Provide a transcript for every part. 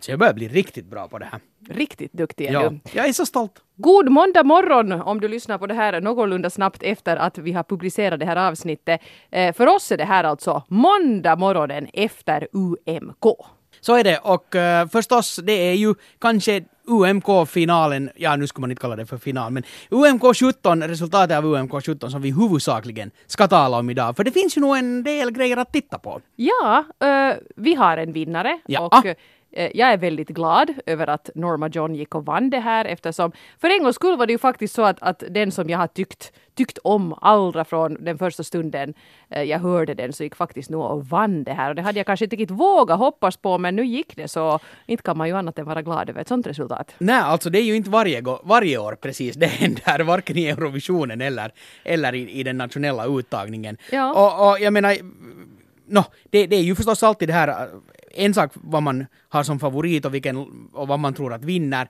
Alltså jag börjar bli riktigt bra på det här. Riktigt duktig är du. Jag är så stolt. God måndag morgon om du lyssnar på det här någorlunda snabbt efter att vi har publicerat det här avsnittet. För oss är det här alltså måndag morgonen efter UMK. Så är det, och förstås det är ju kanske UMK-finalen, ja nu ska man inte kalla det för final, men UMK17, resultatet av UMK17 som vi huvudsakligen ska tala om idag. För det finns ju nog en del grejer att titta på. Ja, vi har en vinnare och jag är väldigt glad över att Norma John gick och vann det här eftersom för en gångs skull var det ju faktiskt så att den som jag har tyckt om allra från den första stunden jag hörde den så gick faktiskt nog och vann det här och det hade jag kanske inte riktigt vågat hoppas på men nu gick det så inte kan man ju annat än vara glad över ett sånt resultat. Nej, alltså det är ju inte varje år precis det händer, varken i Eurovisionen eller i den nationella uttagningen. Ja. Och jag menar, det är ju förstås alltid det här en sak vad man har som favorit och vad man tror att vinner.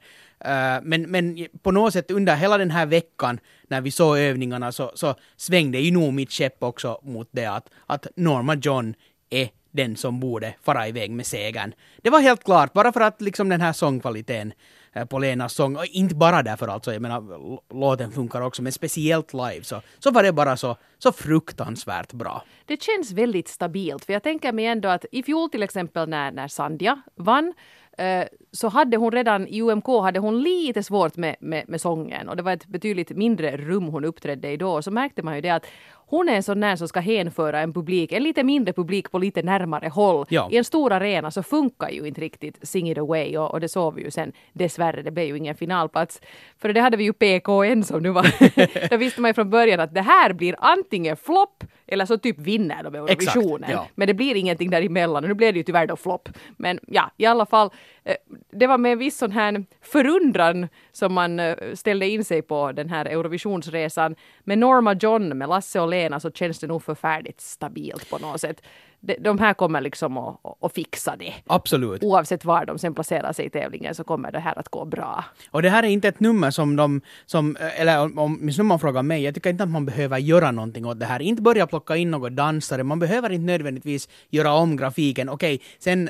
Men på något sätt under hela den här veckan när vi såg övningarna så svängde ju nog mitt käpp också mot det att Norma John är den som borde fara iväg med segern. Det var helt klart, bara för att liksom den här sångkvaliteten på Lenas sång, och inte bara därför alltså, jag menar låten funkar också, men speciellt live så var det bara så fruktansvärt bra. Det känns väldigt stabilt, för jag tänker mig ändå att i fjol till exempel när Sandhja vann så hade hon redan i UMK hade hon lite svårt med sången och det var ett betydligt mindre rum hon uppträdde i då, så märkte man ju det att hon är en sån där som ska hänföra en lite mindre publik på lite närmare håll. Ja. I en stor arena så funkar ju inte riktigt Sing It Away och det såg vi ju sen dessvärre, det blev ju ingen finalplats. För det hade vi ju PKN som nu var. Då visste man ju från början att det här blir antingen flopp eller så typ vinner de Eurovisionen. Exakt, ja. Men det blir ingenting däremellan och nu blev det ju tyvärr då flopp. Men ja, i alla fall det var med en viss sån här förundran som man ställde in sig på den här Eurovisionsresan. Med Norma John, med Lasse och Lena så känns det nog förfärligt stabilt på något sätt. De här kommer liksom att fixa det. Absolut. Oavsett var de sen placerar sig i tävlingen så kommer det här att gå bra. Och det här är inte ett nummer eller om man frågar mig, jag tycker inte att man behöver göra någonting åt det här. Inte börja plocka in något dansare, man behöver inte nödvändigtvis göra om grafiken. Okej, sen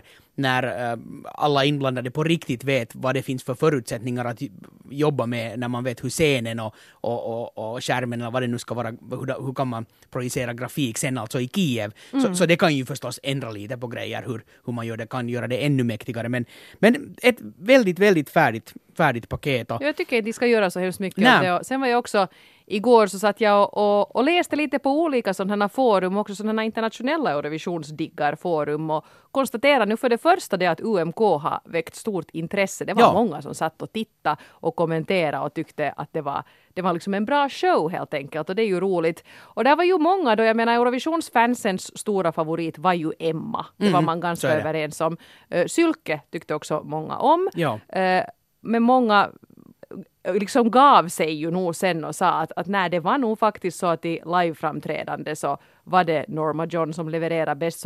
när alla inblandade på riktigt vet vad det finns för förutsättningar att jobba med, när man vet hur scenen och skärmen eller vad det nu ska vara, hur kan man projicera grafik sen alltså i Kiev. Så det kan ju förstås ändra lite på grejer hur man kan göra det ännu mäktigare. Men ett väldigt, väldigt färdigt paket. Jag tycker att de ska göra så hemskt mycket av det. Sen var jag också igår så satt jag och läste lite på olika sådana forum, också sådana internationella Eurovisionsdiggarforum och konstaterade nu för det första det att UMK har väckt stort intresse. Det var många som satt och tittade och kommenterade och tyckte att det var liksom en bra show helt enkelt och det är ju roligt. Och där var ju många då, jag menar Eurovisionsfansens stora favorit var ju Emma. Det var man ganska överens om. Sylke tyckte också många om. Ja. Men många liksom gav sig ju nog sen och sa att nej, det var nog faktiskt så att i liveframträdande så var det Norma John som levererade bäst,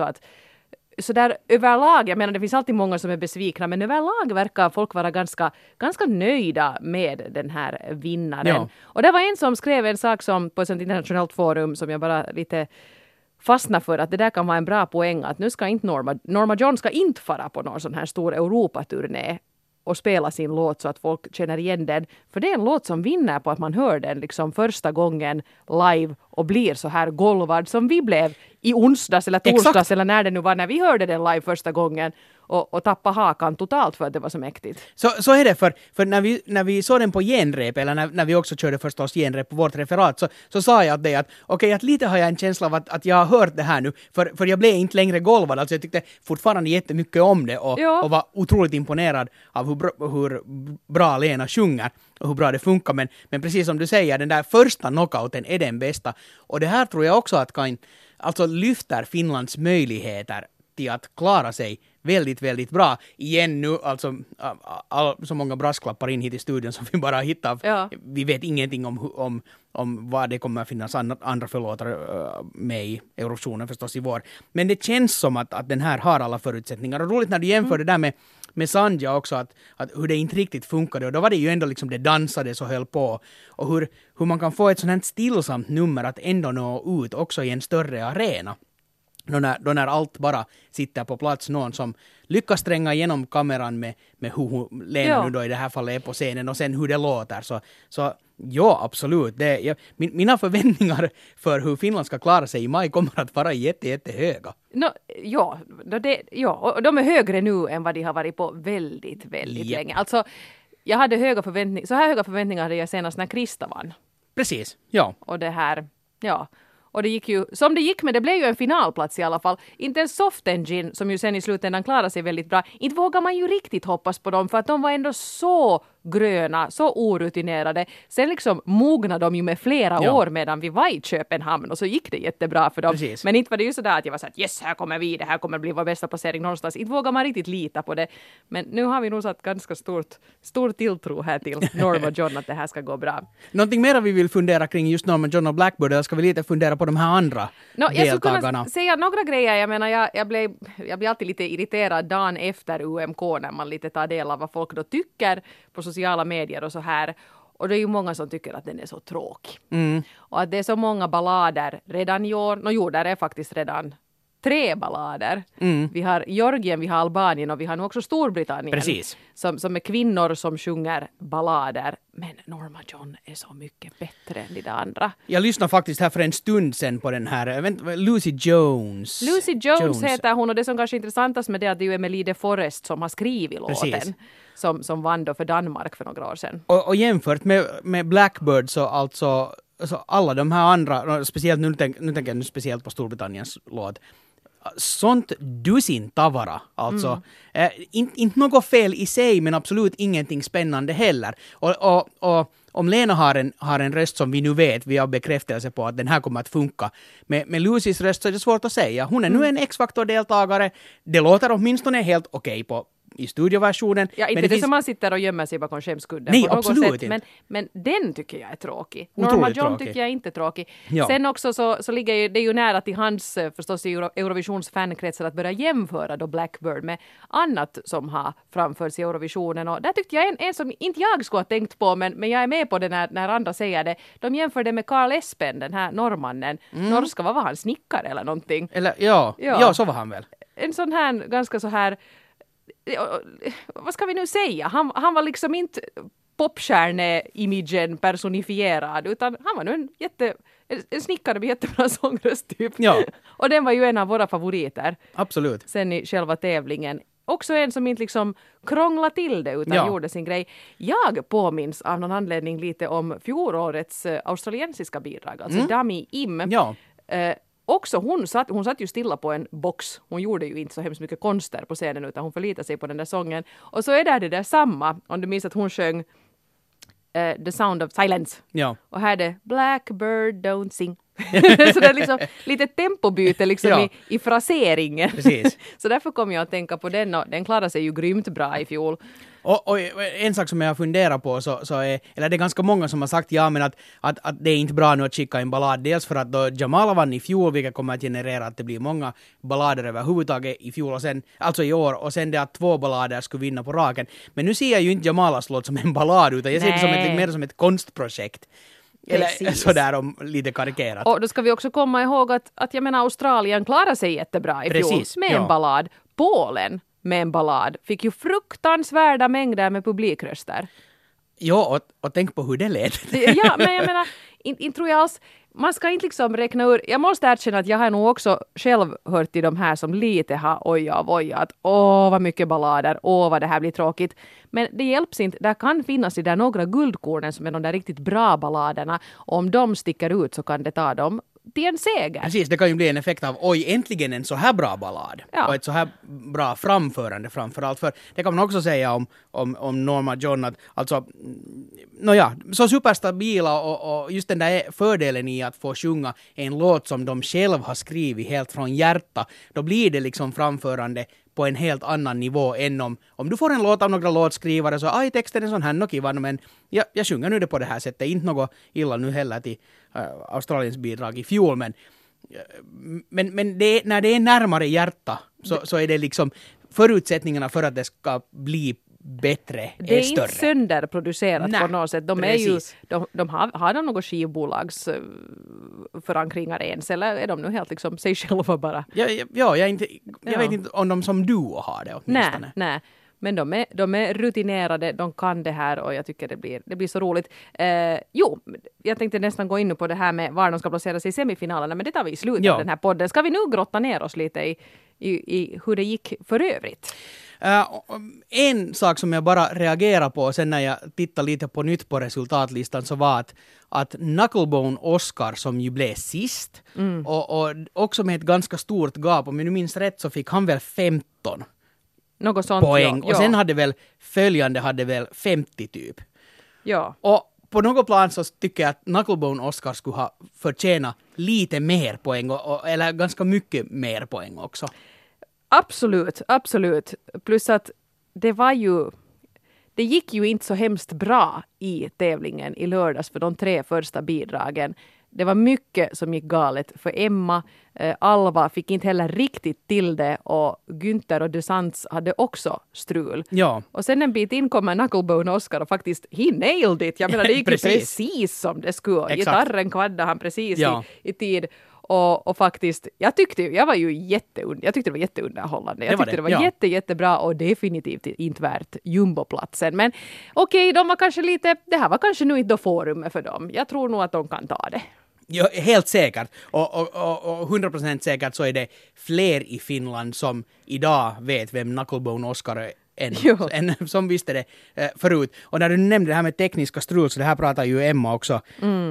så där överlag, jag menar det finns alltid många som är besvikna, men överlag verkar folk vara ganska nöjda med den här vinnaren. Ja. Och det var en som skrev en sak som på ett sånt internationellt forum som jag bara lite fastnar för, att det där kan vara en bra poäng, att nu ska inte Norma John ska inte fara på någon sån här stor Europaturné och spela sin låt så att folk känner igen den. För det är en låt som vinner på att man hör den liksom första gången live och blir så här golvad som vi blev i onsdags eller torsdags. Exakt. Eller när det nu var när vi hörde den live första gången och tappa hakan totalt för att det var så mäktigt. Så är det, för när vi såg den på genrep, eller när vi också körde förstås genrep på vårt referat, så sa jag att okej, att lite har jag en känsla av att jag har hört det här nu, för jag blev inte längre golvad, alltså jag tyckte fortfarande jättemycket om det och var otroligt imponerad av hur bra Lena sjunger och hur bra det funkar, men precis som du säger, den där första knockouten är den bästa, och det här tror jag också att kan alltså lyfter Finlands möjligheter till att klara sig väldigt, väldigt bra. Igen nu, alltså så många brasklappar in hit i studion som vi bara hittar. Ja. Vi vet ingenting om vad det kommer att finnas andra förlåtare med i Eurovisionen förstås i vår. Men det känns som att den här har alla förutsättningar. Och roligt när du jämför det där med Sandhja också, att hur det inte riktigt funkade. Och då var det ju ändå liksom det dansade så höll på. Och hur man kan få ett sånt här stillsamt nummer att ändå nå ut också i en större arena. Då när allt bara sitter på plats, någon som lyckas tränga igenom kameran med hur Lena nu då i det här fallet är på scenen och sen hur det låter. Så ja, absolut. Mina förväntningar för hur Finland ska klara sig i maj kommer att vara jättehöga. Och de är högre nu än vad de har varit på väldigt länge. Alltså, jag hade så här höga förväntningar hade jag senast när Krista vann. Precis, ja. Och det här, och det gick ju som det gick, men det blev ju en finalplats i alla fall. Inte en Soft Engine, som ju sen i slutändan klarade sig väldigt bra. Inte vågar man ju riktigt hoppas på dem, för att de var ändå så gröna, så orutinerade. Sen liksom mognade de ju med flera år medan vi var i Köpenhamn, och så gick det jättebra för dem. Precis. Men inte var det ju sådär att jag var så att yes, här kommer vi, det här kommer bli vår bästa placering någonstans. Inte vågar man riktigt lita på det. Men nu har vi nog satt ganska stor tilltro här till Norma John att det här ska gå bra. Någonting mer vi vill fundera kring just Norma John och Blackbird, eller ska vi lite fundera på de här andra deltagarna? Jag skulle kunna säga några grejer. Jag menar, jag blir alltid lite irriterad dagen efter UMK när man lite tar del av vad folk då tycker på sociala medier och så här. Och det är ju många som tycker att den är så tråkig. Och att det är så många ballader redan i år. Där är faktiskt redan 3 ballader. Vi har Georgien, vi har Albanien och vi har nu också Storbritannien. Precis. Som är kvinnor som sjunger ballader. Men Norma John är så mycket bättre än de andra. Jag lyssnade faktiskt här för en stund sedan på den här, Lucy Jones. Lucy Jones heter hon, och det som kanske är intressantast med det är att det är Emily de Forest som har skrivit låten. Som vann då för Danmark för några år sedan. Och jämfört med Blackbird så alltså alla de här andra, speciellt nu tänker jag speciellt på Storbritanniens låt, sånt dussin tavara. Alltså, inte något fel i sig, men absolut ingenting spännande heller. Och om Lena har en röst som vi nu vet, vi har bekräftelse på att den här kommer att funka. Med Lucys röst så är det svårt att säga. Hon är nu en X-Factor-deltagare. Det låter åtminstone helt okej i studioversionen. Ja, inte men det som man sitter och gömmer sig bakom skämskudden. Nej, absolut inte. Men den tycker jag är tråkig. Otroligt Norma John tråkig. Tycker jag inte är tråkig. Ja. Sen också så ligger det ju nära till hans förstås i Eurovisions fankretsar att börja jämföra då Blackbird med annat som har framförts i Eurovisionen. Och där tyckte jag en som inte jag skulle ha tänkt på, men jag är med på det när andra säger det. De jämför det med Carl Espen, den här norrmannen. Norska, vad var han? Snickare eller någonting? Eller, ja, så var han väl. En sån här, ganska så här, vad ska vi nu säga? Han var liksom inte popstjärne-imagen personifierad, utan han var nu en snickare med jättebra sångröst typ. Ja. Och den var ju en av våra favoriter. Absolut. Sen i själva tävlingen. Också en som inte liksom krånglade till det utan gjorde sin grej. Jag påminns av någon anledning lite om fjolårets australiensiska bidrag, alltså Dami Im. Ja. Också hon satt ju stilla på en box. Hon gjorde ju inte så hemskt mycket konster på scenen, utan hon förlitade sig på den där sången. Och så är det där samma, om du minns att hon sjöng The Sound of Silence. Ja. Och här är det Blackbird don't sing. Så det är liksom lite tempobyte liksom i fraseringen. Precis. Så därför kom jag att tänka på den, och den klarade sig ju grymt bra i fjol. Och en sak som jag funderar på så är, eller det är ganska många som har sagt men att det är inte bra nu att skicka en ballad, dels för att då Jamal vann i fjol, vilket kommer att generera att det blir många ballader överhuvudtaget i fjol och sen, alltså i år, och sen det att 2 ballader skulle vinna på raken. Men nu ser jag ju inte Jamalas låt som en ballad, utan jag ser det som mer som ett konstprojekt. Eller sådär om lite karikerat. Och då ska vi också komma ihåg att jag menar Australien klarar sig jättebra i fjol med en ballad. Polen med en ballad fick ju fruktansvärda mängder med publikröster. Ja, och tänk på hur det lät. Ja, men jag menar, inte tror jag alls, man ska inte liksom räkna ur, jag måste erkänna att jag har nog också själv hört till de här som lite har ojat, vad mycket ballader, vad det här blir tråkigt. Men det hjälps inte, där kan finnas det där några guldkornen som är de där riktigt bra balladerna, och om de sticker ut så kan det ta dem till en seger. Precis, det kan ju bli en effekt av äntligen en så här bra ballad. Och ett så här bra framförande framförallt. För det kan man också säga om Norma John, att alltså, så superstabila och just den där fördelen i att få sjunga en låt som de själv har skrivit helt från hjärta, då blir det liksom framförande på en helt annan nivå än om du får en låt av några låtskrivare så texten är sån här kivan, men jag sjunger nu det på det här sättet, inte något illa nu heller till Australiens bidrag i fjol, men det, när det är närmare hjärta så är det liksom förutsättningarna för att det ska bli bättre det är större. Inte sönderproducerat på något sätt. De är ju, precis. de har något skivbolags förankringar ens, eller är de nu helt liksom sig själva bara? Jag vet inte om de som duo har det åtminstone. Nej. Men de är rutinerade, de kan det här och jag tycker det blir så roligt. Jag tänkte nästan gå in på det här med var de ska placera sig i semifinalerna, men det tar vi i slutet av den här podden. Ska vi nu grotta ner oss lite i hur det gick för övrigt? En sak som jag bara reagerar på sen när jag tittar lite på nytt på resultatlistan så var att Knucklebone Oscar som ju blev sist och också med ett ganska stort gap, om jag nu minns rätt så fick han väl 15 något sånt, poäng. Ja. Och sen hade väl 50 typ. Ja. Och på något plan så tycker jag att Knucklebone Oscar skulle ha förtjänat lite mer poäng eller ganska mycket mer poäng också. Absolut. Plus att det gick ju inte så hemskt bra i tävlingen i lördags för de 3 första bidragen. Det var mycket som gick galet för Emma. Alva fick inte heller riktigt till det och Günther och DeSantis hade också strul. Ja. Och sen en bit in kommer Knucklebone Oscar och faktiskt he nailed it. Jag menar det gick ju precis som det skulle. Exakt. Gitarren kvaddade han precis i tid. Och faktiskt, jag tyckte det var jätteunderhållande. Jag tyckte det var jättebra och definitivt inte värt jumboplatsen. Men okej, de var kanske det här var kanske nu inte forumet för dem. Jag tror nog att de kan ta det. Ja, helt säkert. Och 100% säkert så är det fler i Finland som idag vet vem Knucklebone Oscar är. En som visste det förut. Och när du nämnde det här med tekniska strul så det här pratar ju Emma också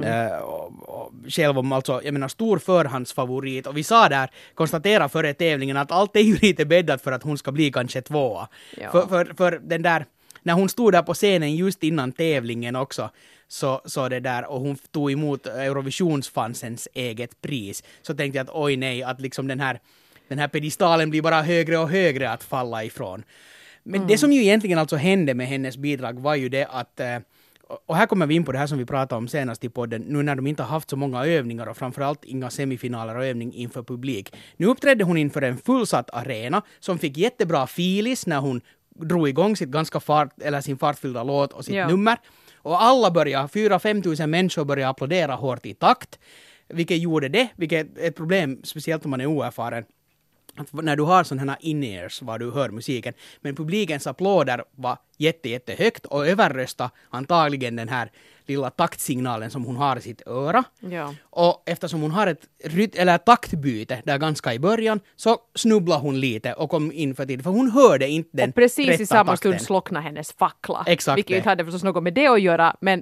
själv om, alltså jag menar stor förhandsfavorit och vi sa där, konstatera före tävlingen att allt är ju lite bäddat för att hon ska bli kanske 2. Ja. För den där, när hon stod där på scenen just innan tävlingen också så det där och hon tog emot Eurovisionsfansens eget pris så tänkte jag att oj nej, att liksom den här pedestalen blir bara högre och högre att falla ifrån. Men det som ju egentligen alltså hände med hennes bidrag var ju det att, och här kommer vi in på det här som vi pratade om senast i podden, nu när de inte har haft så många övningar och framförallt inga semifinaler och övning inför publik. Nu uppträdde hon inför en fullsatt arena som fick jättebra filis när hon drog igång sin fartfyllda låt och sitt nummer. Och alla 4-5 tusen människor började applådera hårt i takt, vilket är ett problem, speciellt om man är oerfaren. Att när du har sådana här in-ears var du hör musiken, men publikens applåder var jättehögt och överrösta antagligen den här lilla taktsignalen som hon har i sitt öra. Ja. Och eftersom hon har ett taktbyte där ganska i början så snubblade hon lite och kom in för tid, för hon hörde inte den. Och precis i samma takten. Stund slocknade hennes fackla. Exakt. Vilket inte hade förstås något med det att göra, men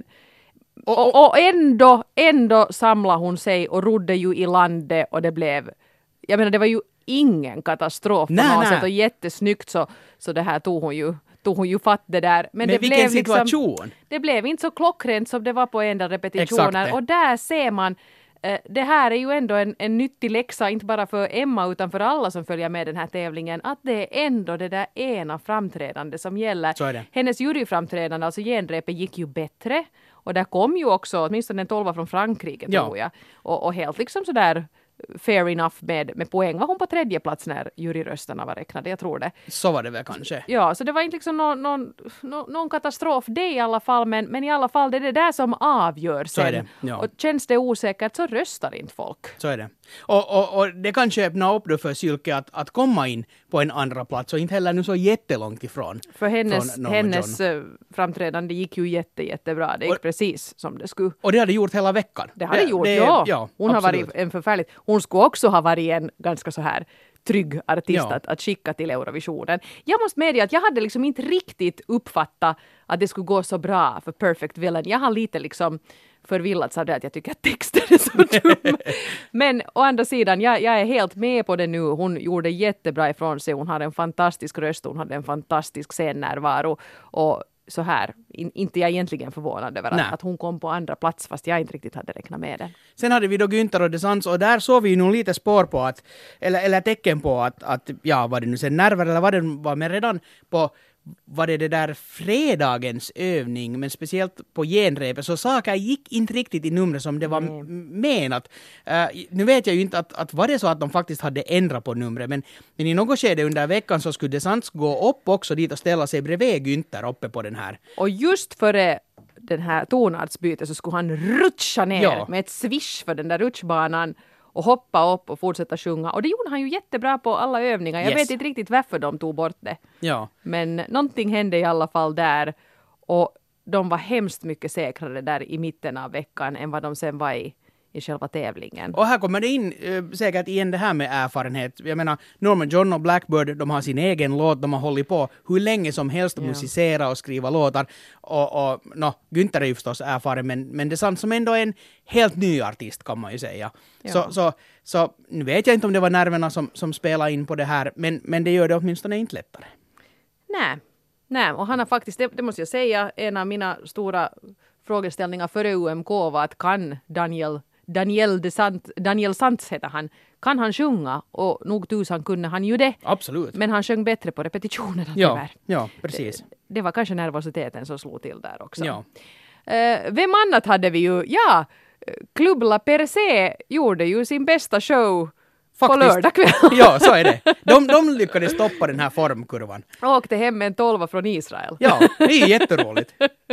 och ändå samlade hon sig och rodde ju i landet och det blev, jag menar det var ju ingen katastrof på något sätt och jättesnyggt så det här tog hon ju fatt det där. Men det vilken blev situation? Liksom, det blev inte så klockrent som det var på en del repetitioner. Exakt. Och där ser man, det här är ju ändå en nyttig läxa, inte bara för Emma utan för alla som följer med den här tävlingen, att det är ändå det där ena framträdande som gäller. Så är det. Hennes juryframträdande, alltså genrepet, gick ju bättre. Och där kom ju också åtminstone en 12 från Frankrike tror jag. Och helt liksom sådär fair enough med poäng. Var hon på 3:e plats när juryrösterna var räknade? Jag tror det. Så var det väl kanske. Ja, så det var inte liksom någon katastrof det i alla fall, men i alla fall det är det där som avgör sen. Så är det, ja. Och känns det osäkert så röstar inte folk. Så är det. Och det kanske öppnar upp då för Sylke att komma in på en andra plats och inte heller nu så jättelångt ifrån. För hennes framträdande gick ju jättebra. Det gick precis som det skulle. Och det hade gjort hela veckan. Det hade gjort, ja. Hon har varit en förfärligt. Hon skulle också ha varit en ganska så här trygg artist att skicka till Eurovisionen. Jag måste medge att jag hade liksom inte riktigt uppfattat att det skulle gå så bra för Perfect Villain. Jag har lite liksom förvillats av det att jag tycker att texten är så dum. Men å andra sidan, jag är helt med på det nu. Hon gjorde jättebra ifrån sig. Hon hade en fantastisk röst. Hon hade en fantastisk scennärvaro. Och så här, inte jag egentligen förvånad över att hon kom på andra plats fast jag inte riktigt hade räknat med det. Sen hade vi då Günther och DeSantis och där såg vi ju nog lite spår på att, eller tecken på att ja, var det nu sen nerver eller var men redan på var det där fredagens övning, men speciellt på genrepet, så saker gick inte riktigt i numret som det var menat. Nu vet jag ju inte att var det så att de faktiskt hade ändrat på numret, men i något skede under veckan så skulle DeSantis gå upp också dit och ställa sig bredvid Günther uppe på den här. Och just före den här tonartsbytet så skulle han rutscha ner med ett swish för den där rutschbanan och hoppa upp och fortsätta sjunga. Och det gjorde han ju jättebra på alla övningar. Jag vet inte riktigt varför de tog bort det. Ja. Men någonting hände i alla fall där. Och de var hemskt mycket säkrare där i mitten av veckan än vad de sen var i själva tävlingen. Och här kommer det in säkert igen det här med erfarenhet. Jag menar, Norma John och Blackbird, de har sin egen låt, de har hållit på hur länge som helst att musicera och skriva låtar. Och Günther är ju förstås erfaren, men det är sant som ändå är en helt ny artist kan man ju säga. Ja. Så nu vet jag inte om det var nerverna som spelade in på det här, men det gör det åtminstone inte lättare. Nej, och han har faktiskt, det måste jag säga, en av mina stora frågeställningar före UMK var att kan Daniel Santz heter han. Kan han sjunga? Och nog tusan kunde han ju det. Absolut. Men han sjöng bättre på repetitionerna tyvärr. Ja, precis. Det var kanske nervositeten som slog till där också. Ja. Vem annat hade vi ju? Ja, Club La Percée gjorde ju sin bästa show faktiskt. På lördag kväll. Ja, så är det. De lyckades stoppa den här formkurvan. Och åkte hem med en 12 från Israel. Ja, det är jätteroligt.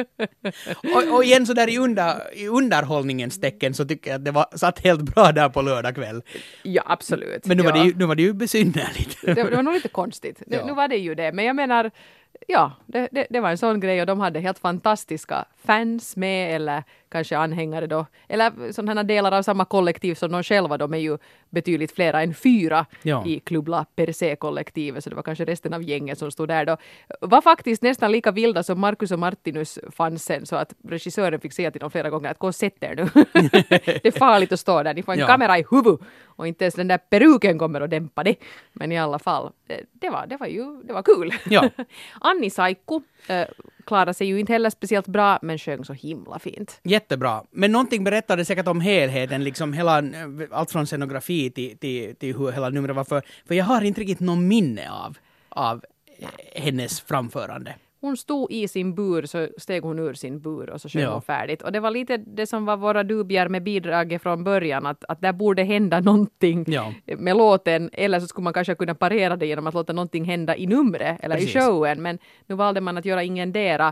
och igen så där i underhållningens tecken så tycker jag att det satt helt bra där på lördag kväll. Ja, absolut. Men nu var det ju besynnerligt. Det var nog lite konstigt. Nu var det ju det. Men jag menar, ja, det var en sån grej och de hade helt fantastiska fans med eller kanske anhängare då. Eller sådana delar av samma kollektiv som de själva. De är ju betydligt flera än 4 i Club La Percée-kollektivet. Så det var kanske resten av gänget som stod där då. Var faktiskt nästan lika vilda som Marcus och Martinus fansen. Så att regissören fick säga till dem flera gånger att gå och sätt er nu. Det är farligt att stå där. Ni får en kamera i huvudet. Och inte ens den där peruken kommer att dämpa det. Men i alla fall, det var kul. Ja. Anni Saikku klarade sig ju inte heller speciellt bra, men sjöng så himla fint. Jättebra. Men någonting berättade säkert om helheten, liksom allt från scenografi till hur hela numret var. För jag har inte riktigt någon minne av hennes framförande. Hon stod i sin bur, så steg hon ur sin bur och så sjöng hon färdigt. Och det var lite det som var våra dubier med bidraget från början, att där borde hända någonting med låten. Eller så skulle man kanske kunna parera det genom att låta någonting hända i numret eller i showen. Men nu valde man att göra ingendera.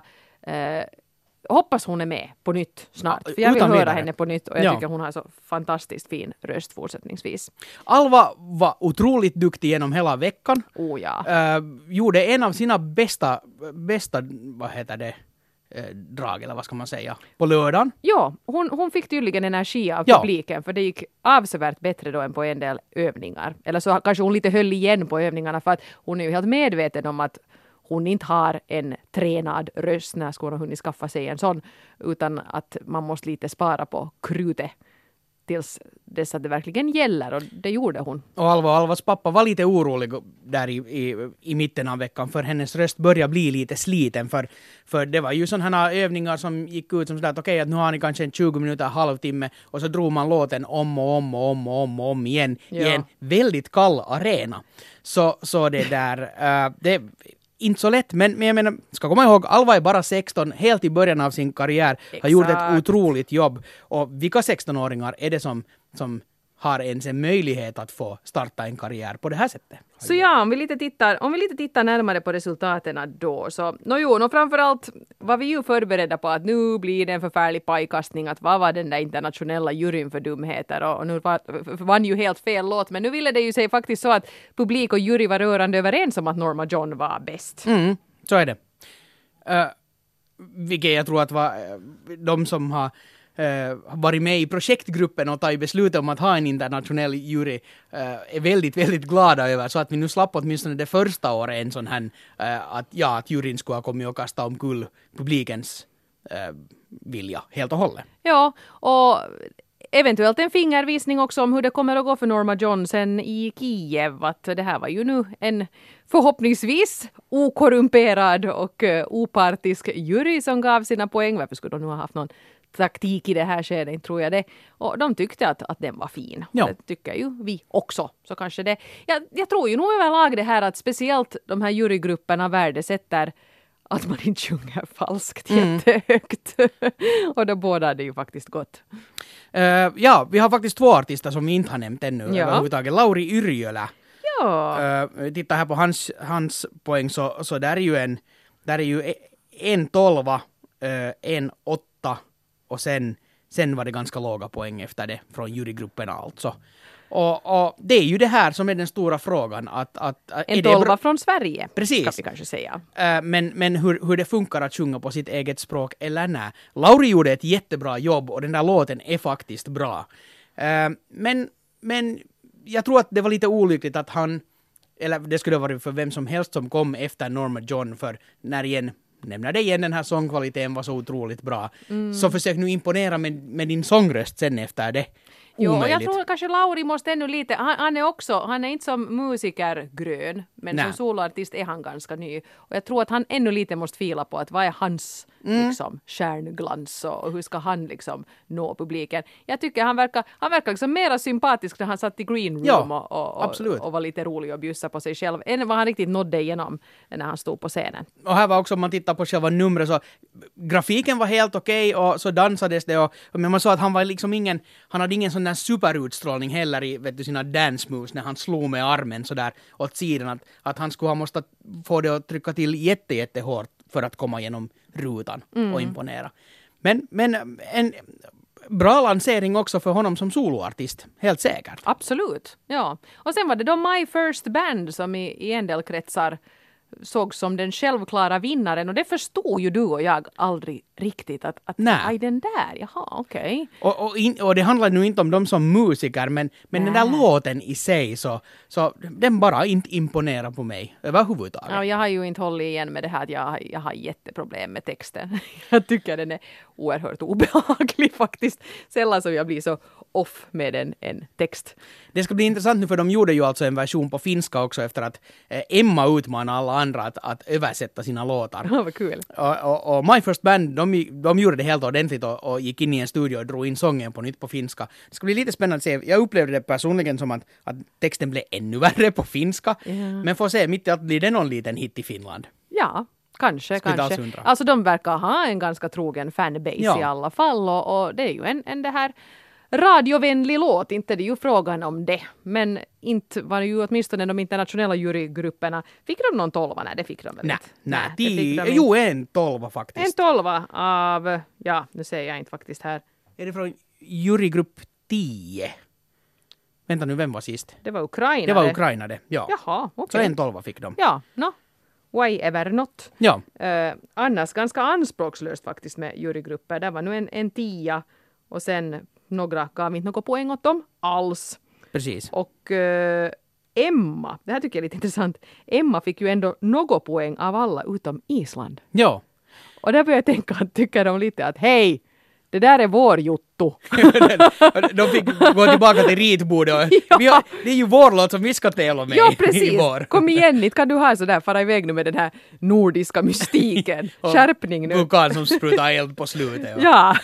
Hoppas hon är med på nytt snart. För jag vill höra henne på nytt och jag tycker hon har så fantastiskt fin röst fortsättningsvis. Alva var otroligt duktig genom hela veckan. Gjorde en av sina bästa vad heter det, drag eller vad ska man säga, på lördagen. Ja, hon fick tydligen energi av publiken för det gick avsevärt bättre då än på en del övningar. Eller så kanske hon lite höll igen på övningarna för att hon är ju helt medveten om att hon inte har en tränad röst när hon har hunnit skaffa sig en sån, utan att man måste lite spara på krutet tills dess att det verkligen gäller, och det gjorde hon. Och Alvas pappa var lite orolig där i mitten av veckan, för hennes röst började bli lite sliten, för det var ju sådana övningar som gick ut som sådär att okej, att nu har ni kanske en 20 minuter, halvtimme, och så drog man låten om igen i en väldigt kall arena. Så det där, det inte så lätt, men jag menar, ska komma ihåg, Alva är bara 16, helt i början av sin karriär, har gjort ett otroligt jobb. Och vilka 16-åringar är det som har ens en möjlighet att få starta en karriär på det här sättet? Så om vi lite tittar närmare på resultaten då, så framförallt var vi ju förberedda på att nu blir det en förfärlig pajkastning, att vad var den där internationella juryn för dumheter, och nu vann ju helt fel låt, men nu ville det ju sig faktiskt så att publik och jury var rörande överens om att Norma John var bäst. Så är det. Vilket jag tror att var de som har varit med i projektgruppen och tagit beslut om att ha en internationell jury är väldigt, väldigt glada över, så att vi nu slapp åtminstone det första året en sån här att juryn skulle ha kommit och kastat omkull publikens vilja helt och hållet. Ja, och eventuellt en fingervisning också om hur det kommer att gå för Norma John sen i Kiev, att det här var ju nu en förhoppningsvis okorrumperad och opartisk jury som gav sina poäng. Varför skulle de nu ha haft någon taktik i det här skedet, tror jag det. Och de tyckte att den var fin. Ja. Det tycker ju vi också. Så kanske det. Jag tror ju nog överlag det här att speciellt de här jurygrupperna värdesätter att man inte sjunger falskt jättehögt. Och då båda hade ju faktiskt gått. Vi har faktiskt 2 artister som vi inte har nämnt ännu överhuvudtaget. Lauri Yrjölä. Titta här på hans poäng, så där är ju en 12, en 8 och sen var det ganska låga poäng efter det från jurygrupperna alltså. Och det är ju det här som är den stora frågan. En 12 från Sverige, precis, ska vi kanske säga. Men hur det funkar att sjunga på sitt eget språk eller nej. Lauri gjorde ett jättebra jobb och den där låten är faktiskt bra. Men jag tror att det var lite olyckligt att han, eller det skulle vara för vem som helst som kom efter Norma John, för nämner det igen, den här sångkvaliteten var så otroligt bra. Så försök nu imponera med din sångröst sen efter det. Jo, Omöjligt. jag tror kanske Lauri måste ännu lite, han är inte som musiker grön, men som soloartist är han ganska ny. Och jag tror att han ännu lite måste fila på att vad är hans liksom stjärnglans och hur ska han liksom nå publiken. Jag tycker han verkar liksom mera sympatisk när han satt i green room och var lite rolig och bjussa på sig själv än vad han riktigt nådde igenom när han stod på scenen. Och här var också, om man tittar på själva numret, så grafiken var helt okej och så dansades det men man såg att han var liksom han hade ingen sån där superutstrålning heller i sina dance moves när han slog med armen så där åt sidan, att han skulle ha måste få det att trycka till jättehårt för att komma igenom rutan och imponera. Men en bra lansering också för honom som soloartist, helt säkert. Absolut, ja. Och sen var det då My First Band som i en del kretsar såg som den självklara vinnaren, och det förstod ju du och jag aldrig riktigt att aj, den där, jaha, okej. Och det handlar nu inte om dem som musiker, men den där låten i sig så den bara inte imponerar på mig överhuvudtaget. Ja, jag har ju inte hållit igen med det här att jag har jätteproblem med texten. Jag tycker den är oerhört obehaglig faktiskt. Sällan som jag blir så off med en text. Det ska bli intressant nu, för de gjorde ju alltså en version på finska också efter att Emma utmanade alla andra att översätta sina låtar. Ja, vad kul. Och My First Band, de gjorde det helt ordentligt och gick in i en studio och drog in sången på nytt på finska. Det ska bli lite spännande att se. Jag upplevde det personligen som att texten blev ännu värre på finska. Men får se, mitt i allt blir det någon liten hit i Finland. Ja, kanske. Alltså de verkar ha en ganska trogen fanbase i alla fall, och det är ju en det här radiovänlig låt, inte det är ju frågan om det. Men inte var det ju åtminstone de internationella jurygrupperna. Fick de någon 12? Nej, det fick de väl inte. Nej, en 12 faktiskt. En 12 av, nu säger jag inte faktiskt här. Är det från jurygrupp 10? Vänta nu, vem var sist? Det var Ukraina. Det var Ukraina det, ja. Jaha, okej. Så en 12 fick de. Ja, why ever not. Ja. Annars ganska anspråkslöst faktiskt med jurygrupper. Det var nu en 10 och sen några gav inte något poäng åt dem alls. Precis. Och Emma, det här tycker jag är lite intressant. Emma fick ju ändå något poäng av alla utom Island. Ja. Och där börjar jag tänka att tycker de lite att hej, det där är vår Jotto. De fick gå tillbaka till ritbordet. Det är ju vår låt som vi ska tävla med. Ja, precis. Kom igen, inte kan du ha sådär fara iväg nu med den här nordiska mystiken. Skärpning nu. Vulkan som sprutar eld på slutet. Ja.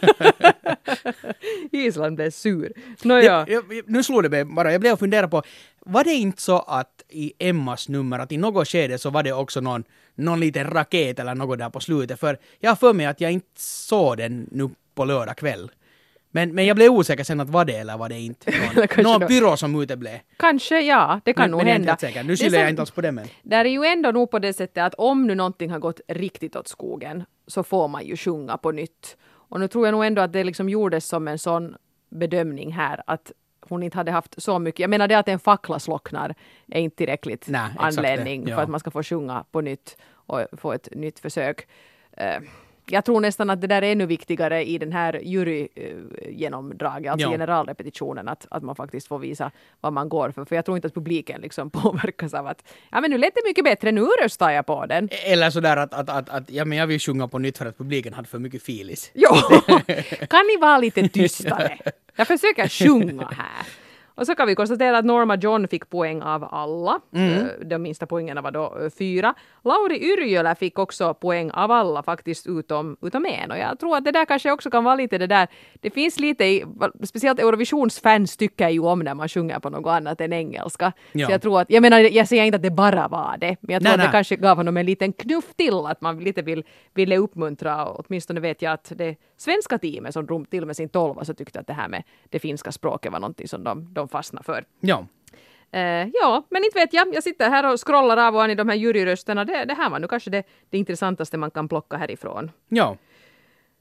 Island blev sur. Nu slår det mig bara. Jag blev att fundera på, var det inte så att i Emmas nummer att i något skede så var det också någon liten raket eller något där på slutet? För jag har för mig att jag inte såg den nu på lördag kväll. Men jag blev osäker sen att var det eller var det inte. Någon pyro som uteblev. Kanske, ja. Det kan nog hända. Nu skyller jag inte alls på det, men. Där är ju ändå nog på det sättet att om nu någonting har gått riktigt åt skogen så får man ju sjunga på nytt. Och nu tror jag nog ändå att det liksom gjordes som en sån bedömning här att hon inte hade haft så mycket. Jag menar det att en fackla slocknar är inte tillräckligt anledning för att man ska få sjunga på nytt och få ett nytt försök. Jag tror nästan att det där är ännu viktigare i den här jurygenomdraget, alltså generalrepetitionen, att man faktiskt får visa vad man går för. För jag tror inte att publiken liksom påverkas av att men nu lät det mycket bättre, nu röstar jag på den. Eller sådär att jag vill sjunga på nytt för att publiken hade för mycket filis. Jo, kan ni vara lite tystare? Jag försöker sjunga här. Och så kan vi konstatera att Norma John fick poäng av alla. De minsta poängerna var då 4. Lauri Yrjölä fick också poäng av alla faktiskt utom en. Och jag tror att det där kanske också kan vara lite det där. Det finns lite, speciellt Eurovisionsfans tycker ju om när man sjunger på något annat än engelska. Ja. Så jag tror att, jag säger inte att det bara var det. Men jag tror att det kanske gav honom en liten knuff till att man lite ville uppmuntra. Och åtminstone vet jag att det svenska teamet som drog till med sin 12 så tyckte att det här med det finska språket var någonting som de fastnar för. Ja. Men inte vet jag. Jag sitter här och scrollar av och an i de här juryrösterna. Det här var nu kanske det intressantaste man kan plocka härifrån. Ja.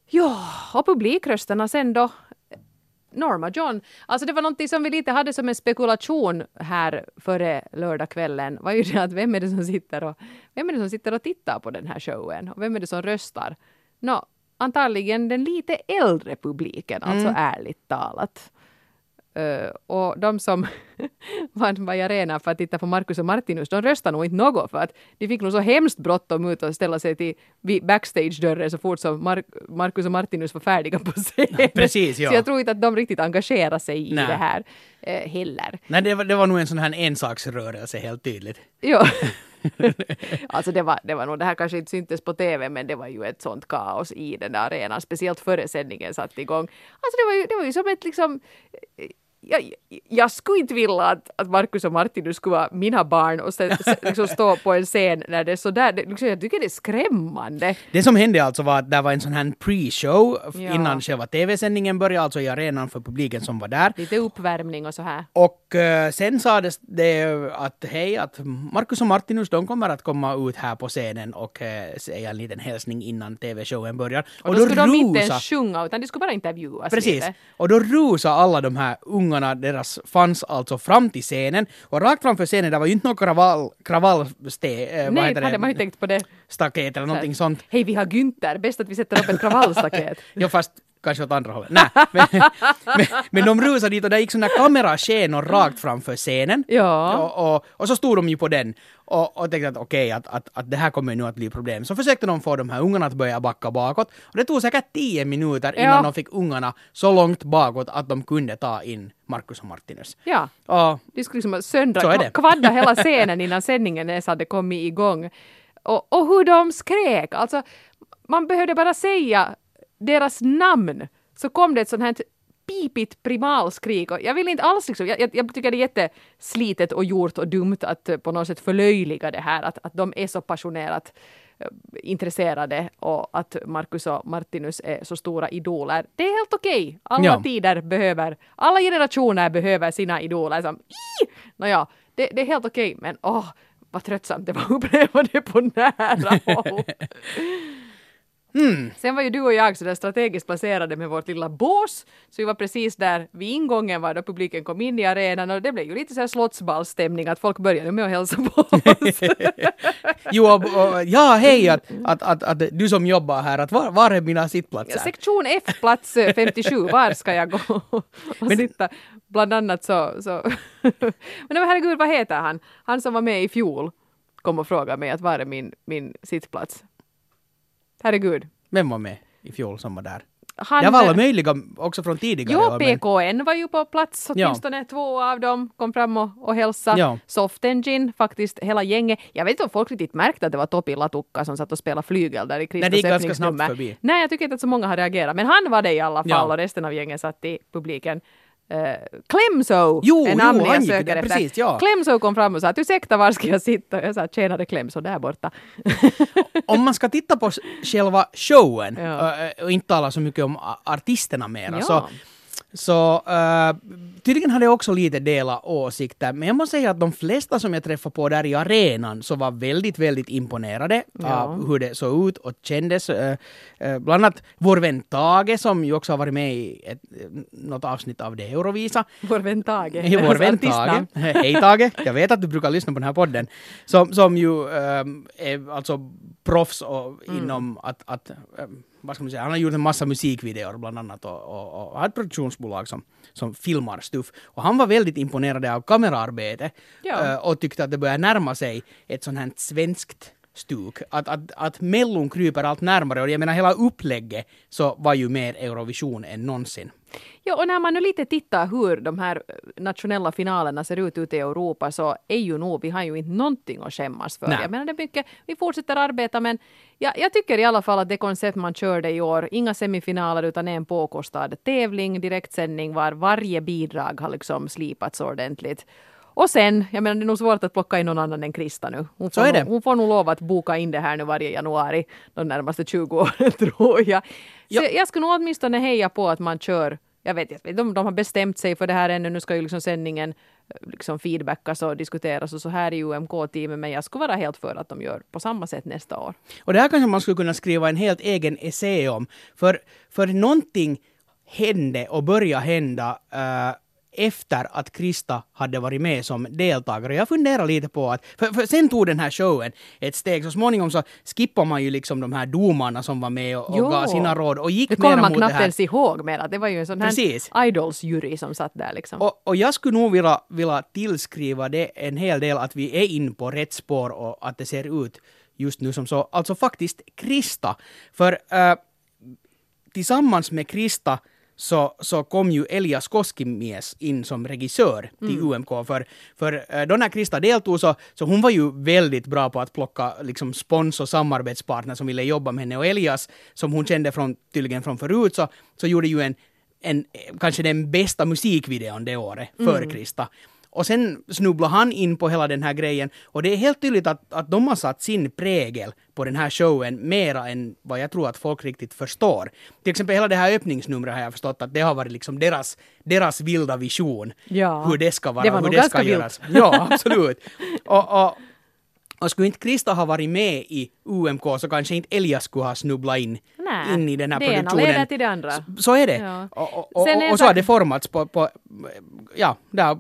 Ja, och publikrösterna sen då. Norma John. Alltså det var någonting som vi lite hade som en spekulation här före lördagskvällen. Var ju det att vem är det som sitter och tittar på den här showen? Och vem är det som röstar? Antagligen den lite äldre publiken, alltså ärligt talat. Och de som var i arenan för att titta på Marcus och Martinus, de röstade nog inte något för att de fick nog så hemskt bråttom ut och ställa sig till backstage-dörren så fort som Marcus och Martinus var färdiga på scenen. Ja, precis, ja. Så jag tror inte att de riktigt engagerar sig i det här heller. Nej, det var nog en sån här ensaksrörelse helt tydligt. Ja. Alltså det var nog, det här kanske inte syntes på tv, men det var ju ett sånt kaos i den där arenan, speciellt före sändningen satt igång. Alltså det var ju som ett liksom... Jag skulle inte vilja att Marcus och Martinus skulle vara mina barn och sen liksom stå på en scen när det är sådär. Liksom, jag tycker det är skrämmande. Det som hände alltså var att det var en sån här pre-show innan själva tv-sändningen började, alltså i arenan för publiken som var där. Lite uppvärmning och så här. Och sen sades det att att Marcus och Martinus, de kommer att komma ut här på scenen och säga en liten hälsning innan tv-showen börjar. Och då skulle de inte ens sjunga utan de skulle bara intervjuas. Precis. Lite. Och då rusade alla de här ungarna, deras fans alltså fram till scenen. Och rakt framför scenen, det var ju inte någon Nej, hade man ju tänkt på det. Staket eller någonting sånt. Hej, vi har Günther. Bäst att vi sätter upp ett kravallstaket. Ja, fast kanske åt andra hållet. Nej, men de rusade dit och där gick sådana kameraskenor rakt framför scenen. Ja. Och så stod de ju på den och tänkte att okej, att det här kommer nu att bli problem. Så försökte de få de här ungarna att börja backa bakåt. Och det tog säkert 10 minuter innan de fick ungarna så långt bakåt att de kunde ta in Marcus och Martinus. Ja, de skulle liksom kvadda hela scenen innan sändningen ens hade kommit igång. Och hur de skrek. Alltså, man behövde bara säga deras namn så kom det ett sånt här pipigt primalskrik och jag vill inte alls liksom, jag tycker det är jätteslitet och gjort och dumt att på något sätt förlöjliga det här att de är så passionerat intresserade och att Marcus och Martinus är så stora idoler. Det är helt okej. Alla tider behöver, alla generationer behöver sina idoler som det är helt okej, men vad tröttsamt det var att uppleva det på nära håll. Sen var ju du och jag så där strategiskt placerade med vårt lilla bås. Så vi var precis där vid ingången var då publiken kom in i arenan och det blev ju lite så här slottsballstämning att folk började med att hälsa på oss. Hej att du som jobbar här, att var är mina sittplatser? Sektion F, plats 57, var ska jag gå och sitta? Bland annat så. Men herregud, vad heter han? Han som var med i fjol kom och frågade mig att var är min sittplats? Herregud. Vem var med i fjol som var där? Jag var alla möjliga också från tidigare. Jo, PKN var ju på plats. Åtminstone 2 av dem kom fram och hälsade. Ja. Soft Engine, faktiskt hela gänget. Jag vet inte om folk riktigt märkte att det var Topi Latukka som satt och spelade flygel där i Kristus. Nej, det gick ganska snabbt förbi. Nej, jag tycker inte att så många har reagerat. Men han var det i alla fall och resten av gänget satt i publiken. Clemso är namnet jag söker efter. Precis, ja. Clemso kom fram och sa att ursäkta, var ska jag sitta? Jag sa tjänade Clemso där borta. Om man ska titta på själva showen och inte tala så mycket om artisterna mera så tydligen hade jag också lite dela åsikter, men jag måste säga att de flesta som jag träffade på där i arenan så var väldigt, väldigt imponerade av hur det såg ut och kändes. Bland annat vår vän Tage som ju också har varit med i något avsnitt av det Eurovisa. Vår vän Tage. Vår vän Tage. Hej Tage, jag vet att du brukar lyssna på den här podden. Som ju är alltså proffs inom att vad ska man säga, han har gjort en massa musikvideor bland annat och har ett produktionsbolag som filmar stuff. Och han var väldigt imponerad av kameraarbete och tyckte att det börjar närma sig ett sånt här svenskt stuk. Att Mellon kryper allt närmare och jag menar hela upplägget så var ju mer Eurovision än någonsin. Ja, och när man nu lite tittar hur de här nationella finalerna ser ut ute i Europa så är ju nog, vi har ju inte någonting att skämmas för. Nej. Jag menar det är mycket, vi fortsätter arbeta men jag tycker i alla fall att det koncept man körde i år, inga semifinaler utan en påkostad tävling, direktsändning var varje bidrag har liksom slipats ordentligt. Och sen, jag menar det är nog svårt att plocka in någon annan än Krista nu. Hon får nog lova att boka in det här nu varje januari de närmaste 20 åren tror jag. Så jag skulle nog åtminstone heja på att man kör, jag vet de har bestämt sig för det här ännu, nu ska ju liksom sändningen liksom feedbackas och diskuteras och så här i UMK-teamet, men jag skulle vara helt för att de gör på samma sätt nästa år. Och det här kanske man skulle kunna skriva en helt egen essä om. För någonting hände och började hända efter att Krista hade varit med som deltagare. Jag funderar lite på att, för sen tog den här showen ett steg. Så småningom så skippar man ju liksom de här domarna som var med och gav sina råd och gick det mera mot det här. Det kommer man knappt ens ihåg mer. Det var ju en sån här Idols-jury som satt där liksom. Och jag skulle nog vilja tillskriva det en hel del att vi är in på rätt spår och att det ser ut just nu som så. Alltså faktiskt Krista. För tillsammans med Krista så kom ju Elias Koskimies in som regissör till UMK. För då när Krista deltog så hon var ju väldigt bra på att plocka liksom spons- och samarbetspartner som ville jobba med henne. Och Elias, som hon kände tydligen från förut, så gjorde ju en kanske den bästa musikvideon det året för Krista. Och sen snubblar han in på hela den här grejen. Och det är helt tydligt att de har satt sin prägel på den här showen mera än vad jag tror att folk riktigt förstår. Till exempel hela det här öppningsnumret har jag förstått att det har varit liksom deras vilda vision. Ja, hur det ska vara, det var hur nog det ganska ska vilt. göras. Ja, absolut. Och skulle inte Krista ha varit med i UMK så kanske inte Elias skulle ha snubblat in i den här det produktionen. Det ena leder till det andra. Så är det. Ja. Och så har det formats på där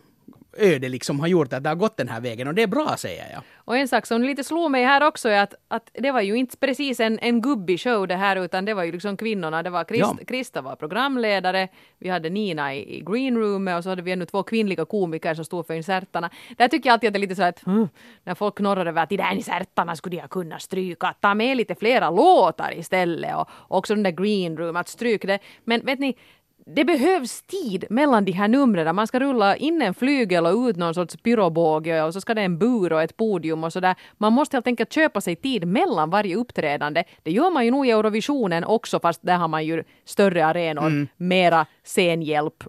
öde liksom har gjort att det har gått den här vägen och det är bra, säger jag. Och en sak som lite slog mig här också är att det var ju inte precis en gubbig show det här, utan det var ju liksom kvinnorna. Det var Krista var programledare, vi hade Nina i green room och så hade vi ännu 2 kvinnliga komiker som stod för insertarna. Där tycker jag alltid att det är lite så att när folk knorrar över att i den insertarna skulle jag kunna stryka, ta med lite flera låtar istället och också den där green room, att stryka det. Men vet ni, det behövs tid mellan de här numren. Man ska rulla in en flygel och ut någon sorts pyrobåge och så ska det en bur och ett podium och sådär. Man måste helt enkelt köpa sig tid mellan varje uppträdande. Det gör man ju nog i Eurovisionen också, fast där har man ju större arenor, mera scenhjälp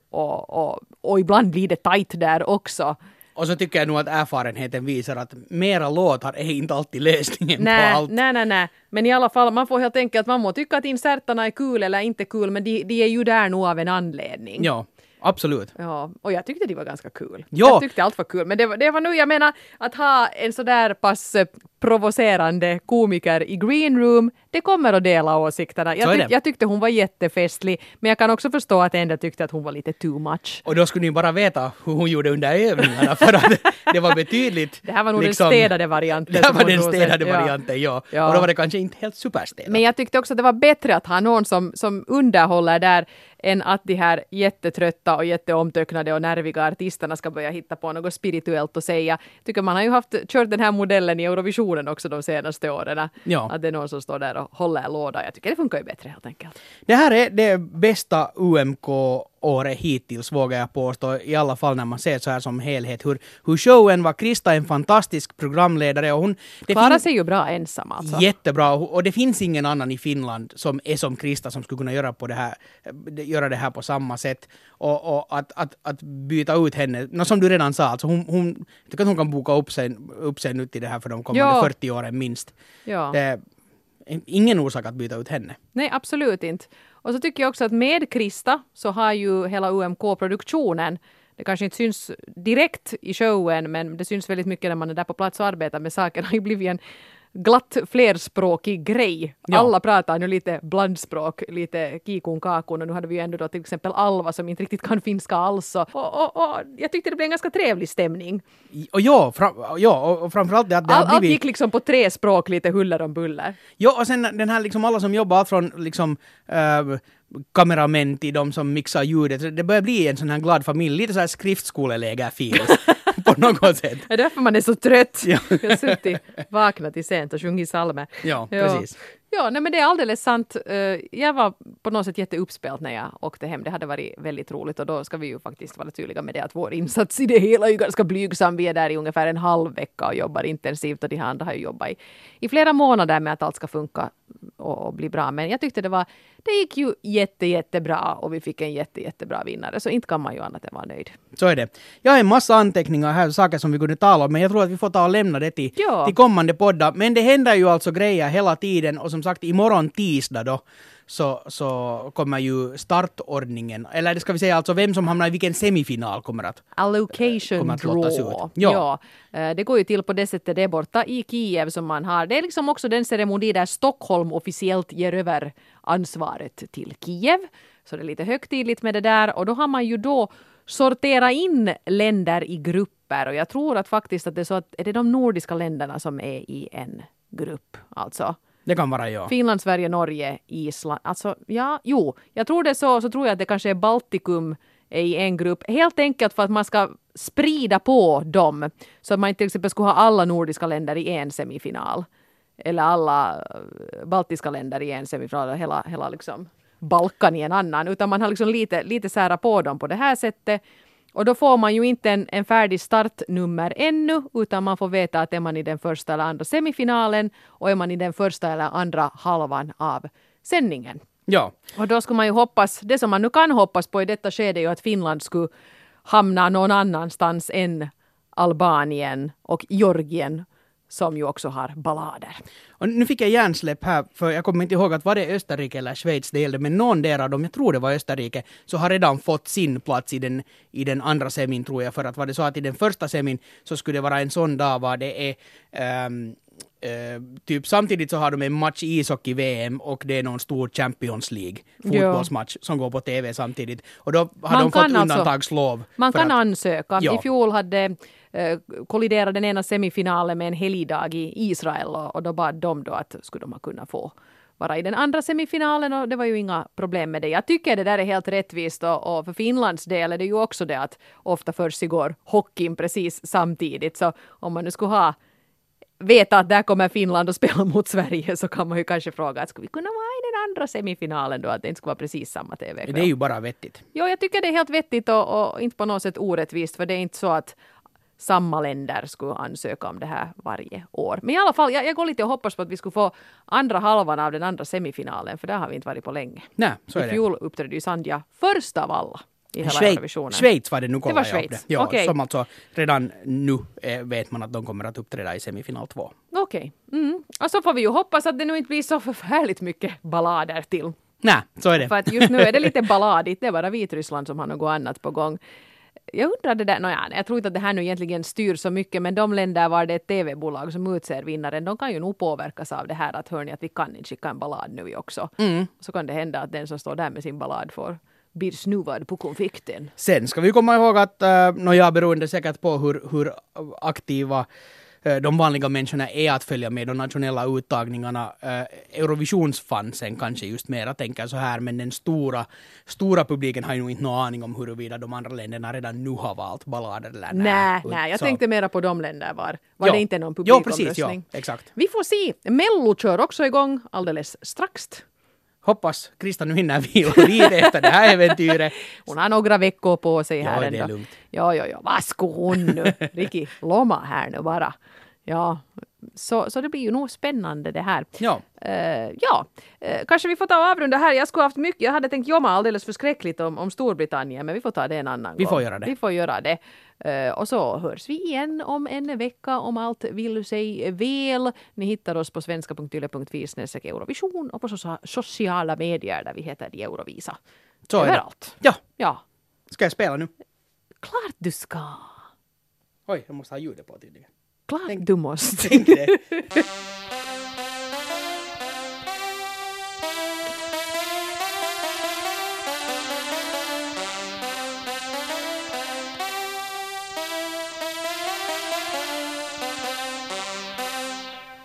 och ibland blir det tajt där också. Och så tycker jag nog att erfarenheten visar att mera låtar är inte alltid lösningen på allt. Nej. Men i alla fall, man får helt enkelt, man må tycka att insertarna är kul eller inte kul, men de är ju där nog av en anledning. Ja, absolut. Ja, och jag tyckte det var ganska kul. Ja. Jag tyckte allt var kul, men det var nu, jag menar, att ha en sådär pass provocerande komiker i green room, det kommer att dela åsikterna. Jag tyckte hon var jättefestlig, men jag kan också förstå att en del tyckte att hon var lite too much. Och då skulle ni bara veta hur hon gjorde under övningarna, för att det var betydligt... Det här var nog den städade varianten. Det här var den städade varianten, ja. Och då var det kanske inte helt superstädat. Men jag tyckte också att det var bättre att ha någon som underhåller där än att de här jättetrötta och jätteomtöcknade och nerviga artisterna ska börja hitta på något spirituellt och säga. Jag tycker man har ju kört den här modellen i Eurovisionen också de senaste åren. Ja. Att det är någon som står där och håller låda. Jag tycker det funkar ju bättre helt enkelt. Det här är det bästa UMK-året hittills, vågar jag påstå. I alla fall när man ser så här som helhet. Hur showen var. Krista är en fantastisk programledare. Och hon klarar sig ju bra ensam alltså. Jättebra. Och det finns ingen annan i Finland som är som Krista som skulle kunna göra det här på samma sätt. Och att byta ut henne. Som du redan sa, alltså hon jag tycker att hon kan boka upp sig nu till det här för de kommande 40 åren minst. Ja. Det är ingen orsak att byta ut henne. Nej, absolut inte. Och så tycker jag också att med Krista så har ju hela UMK-produktionen, det kanske inte syns direkt i showen, men det syns väldigt mycket när man är där på plats och arbetar med saker, har ju blivit en glatt flerspråkig grej. Ja. Alla pratar nu lite blandspråk, lite kikun kakun, och nu hade vi ju ändå då till exempel Alva som inte riktigt kan finska alls. Och jag tyckte det blev en ganska trevlig stämning. Och framförallt det att det har blivit... Allt gick liksom på 3 språk, lite huller om buller. Ja, och sen den här liksom alla som jobbar från liksom kameramän till de som mixar ljudet. Det börjar bli en sån här glad familj, lite så här skriftskoleläger-feels på något sätt. Det är därför man är så trött. Ja. Jag har suttit vaknat i sent och sjungit salmer. Ja, precis. Ja, nej, men det är alldeles sant. Jag var på något sätt jätteuppspelt när jag åkte hem. Det hade varit väldigt roligt och då ska vi ju faktiskt vara tydliga med det att vår insats i det hela är ju ganska blygsam. Vi är där i ungefär en halv vecka och jobbar intensivt och de andra har ju jobbat i flera månader med att allt ska funka och bli bra. Men jag tyckte det gick ju jättebra och vi fick en jättebra vinnare. Så inte kan man ju annat än vara nöjd. Så är det. Jag har en massa anteckningar här, saker som vi kunde tala om, men jag tror att vi får ta och lämna det till kommande poddar. Men det händer ju alltså grejer hela tiden och som sagt, sagt imorgon tisdag då så kommer ju startordningen, eller det ska vi säga alltså vem som hamnar i vilken semifinal kommer att lottas ut. Ja. Det går ju till på det sättet, det är borta i Kiev som man har. Det är liksom också den ceremoni där Stockholm officiellt ger över ansvaret till Kiev. Så det är lite högtidligt med det där, och då har man ju då sortera in länder i grupper, och jag tror att faktiskt att det är så att är det de nordiska länderna som är i en grupp, alltså. Det kan vara ja. Finland, Sverige, Norge, Island. Alltså, ja, jo. Jag tror det så tror jag att det kanske är Baltikum är i en grupp. Helt enkelt för att man ska sprida på dem. Så att man inte till exempel skulle ha alla nordiska länder i en semifinal. Eller alla baltiska länder i en semifinal. Hela liksom Balkan i en annan. Utan man har liksom lite sära på dem på det här sättet. Och då får man ju inte en färdig startnummer ännu, utan man får veta att är man i den första eller andra semifinalen och är man i den första eller andra halvan av sändningen. Ja. Och då skulle man ju hoppas, det som man nu kan hoppas på i detta skede är ju att Finland skulle hamna någon annanstans än Albanien och Georgien, som ju också har ballader. Och nu fick jag hjärnsläpp här, för jag kommer inte ihåg att var det Österrike eller Schweiz det gällde, men någon där av dem, jag tror det var Österrike, så har redan fått sin plats i den andra semin, tror jag, för att var det så att i den första semin så skulle det vara en sån dag var det är typ samtidigt så har de en match i ishockey-VM och det är någon stor Champions League fotbollsmatch som går på TV samtidigt. Och då har de fått undantagslov. Man kan ansöka. Ja. I fjol hade kolliderat den ena semifinalen med en helgdag i Israel, och då bad de då att skulle de kunna få vara i den andra semifinalen, och det var ju inga problem med det. Jag tycker det där är helt rättvist, och för Finlands del är det ju också det att ofta försiggår hockeyn precis samtidigt, så om man nu skulle veta att där kommer Finland och spela mot Sverige, så kan man ju kanske fråga att skulle vi kunna vara i den andra semifinalen då, att det inte skulle vara precis samma TV-kväll. Det är ju bara vettigt. Jo, jag tycker det är helt vettigt och inte på något sätt orättvist, för det är inte så att samma länder skulle ansöka om det här varje år. Men i alla fall, jag går lite och hoppas på att vi skulle få andra halvan av den andra semifinalen, för där har vi inte varit på länge. Nej, så är det. I fjol uppträdde ju Sandja först av alla i hela Eurovisionen. Schweiz var det, nu kollar jag upp det. Ja, okay. Som alltså redan nu vet man att de kommer att uppträda i semifinal 2. Okej. Och så får vi ju hoppas att det nu inte blir så förfärligt mycket ballader till. Nej, så är det. För att just nu är det lite balladigt, det är bara Vitryssland som har något annat på gång. Jag undrar det där, jag tror inte att det här nu egentligen styr så mycket, men de länder var det ett tv-bolag som utser vinnaren, de kan ju nog påverkas av det här att hörni att vi kan inte skicka en ballad nu också. Så kan det hända att den som står där med sin ballad blir snuvad på konflikten. Sen ska vi komma ihåg att, beroende säkert på hur aktiva de vanliga människorna är att följa med de nationella uttagningarna. Eurovisionsfansen kanske just mera tänker så här, men den stora publiken har ju nog inte någon aning om huruvida de andra länderna redan nu har valt ballader eller nej. Jag tänkte mera på de länder var det inte någon publikomröstning. Precis, ja, exakt. Vi får se. Mello kör också igång alldeles strax. Hoppas Krista nu hinner vila lite efter det här äventyret. Hon har några veckor på sig här ändå. Ja, det är lugnt. Ja. Vad skulle hon nu? Rikki loma här nu bara. Ja, så det blir ju nog spännande det här. Ja. Kanske vi får ta och avrunda här. Jag hade tänkt jobba alldeles förskräckligt om Storbritannien, men vi får ta det en annan gång. Vi får göra det. Och så hörs vi igen om en vecka om allt vill sig väl. Ni hittar oss på svenska.yle.fi/Eurovision och på sociala medier där vi heter Eurovisa. Så överallt. Ja. Ska jag spela nu? Klart du ska. Oj, jag måste ha ljudet på tydligen. Klart du måste. Tänk det.